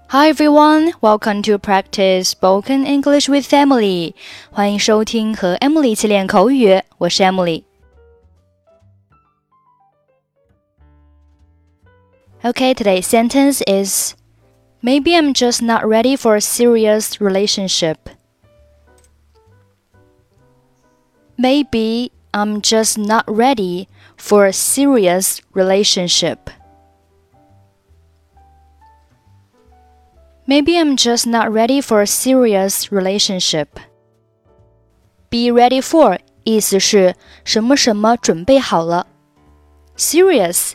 Hi everyone, welcome to practice spoken English with Emily. 欢迎收听和 Emily 一起练口语，我是 Emily。Okay, today's sentence is Maybe I'm just not ready for a serious relationship. Maybe I'm just not ready for a serious relationship.Maybe I'm just not ready for a serious relationship. Be ready for 意思是什么什么准备好了。Serious,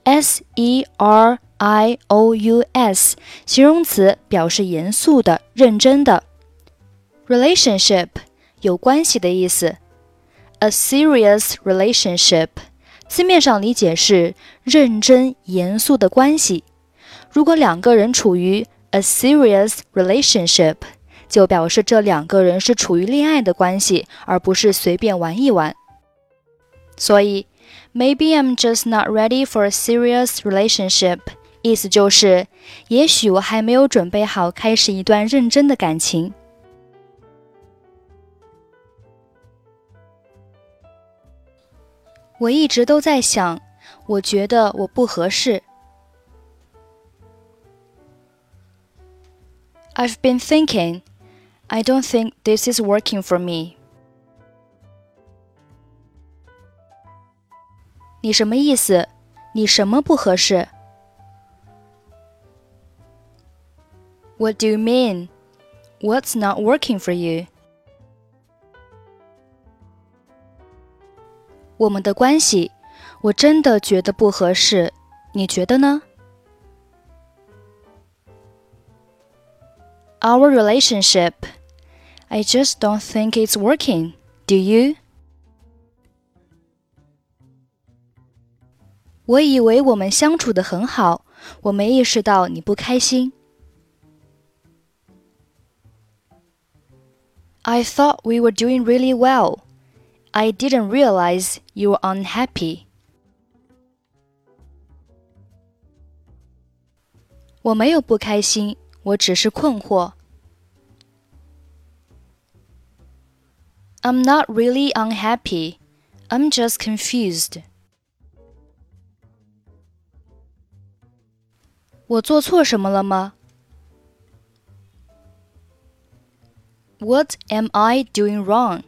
S-E-R-I-O-U-S 形容词表示严肃的、认真的。Relationship 有关系的意思。A serious relationship 字面上理解是认真、严肃的关系。如果两个人处于A serious relationship 就表示这两个人是处于恋爱的关系，而不是随便玩一玩。所以 Maybe I'm just not ready for a serious relationship 意思就是也许我还没有准备好开始一段认真的感情。我一直都在想，我觉得我不合适。I've been thinking, I don't think this is working for me. 你什么意思？你什么不合适？ What do you mean? What's not working for you? 我们的关系，我真的觉得不合适，你觉得呢？Our relationship, I just don't think it's working. Do you? 我以为我们相处得很好，我没意识到你不开心。I thought we were doing really well. I didn't realize you were unhappy. 我没有不开心，我只是困惑。I'm not really unhappy. I'm just confused. 我做错什么了吗？ What am I doing wrong?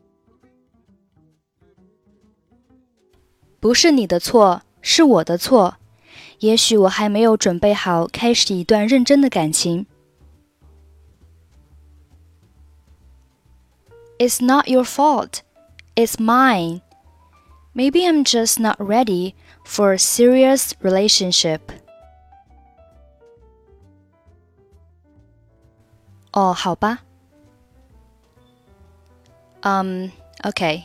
不是你的错，是我的错。也许我还没有准备好开始一段认真的感情。It's not your fault. It's mine. Maybe I'm just not ready for a serious relationship. 哦，好吧。Okay.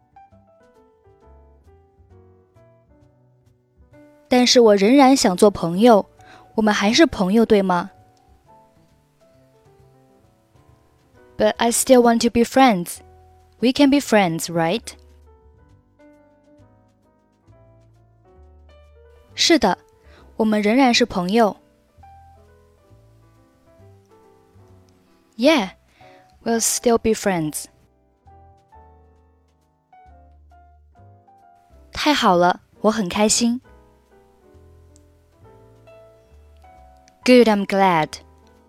但是我仍然想做朋友，我们还是朋友，对吗？ But I still want to be friends. We can be friends, right? 是的，我们仍然是朋友。Yeah, we'll still be friends. 太好了，我很开心。Good, I'm glad.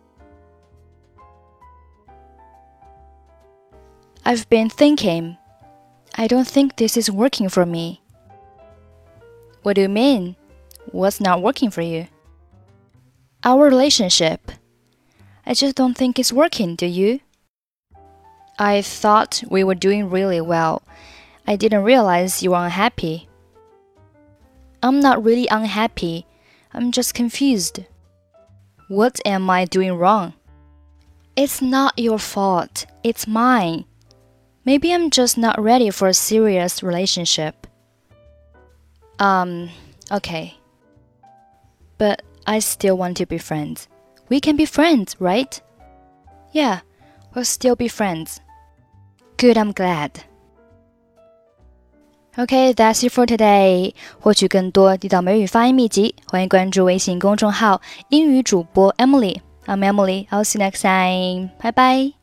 I've been thinking, I don't think this is working for me. What do you mean? What's not working for you? Our relationship. I just don't think it's working, do you? I thought we were doing really well. I didn't realize you were unhappy. I'm not really unhappy. I'm just confused. What am I doing wrong? It's not your fault. It's mine. Maybe I'm just not ready for a serious relationship. Okay. But I still want to be friends. We can be friends, right? Yeah, we'll still be friends. Good, I'm glad. Okay, that's it for today. 获取更多地道美语发音秘籍，欢迎关注微信公众号英语主播 Emily。 I'm Emily. I'll see you next time. Bye bye.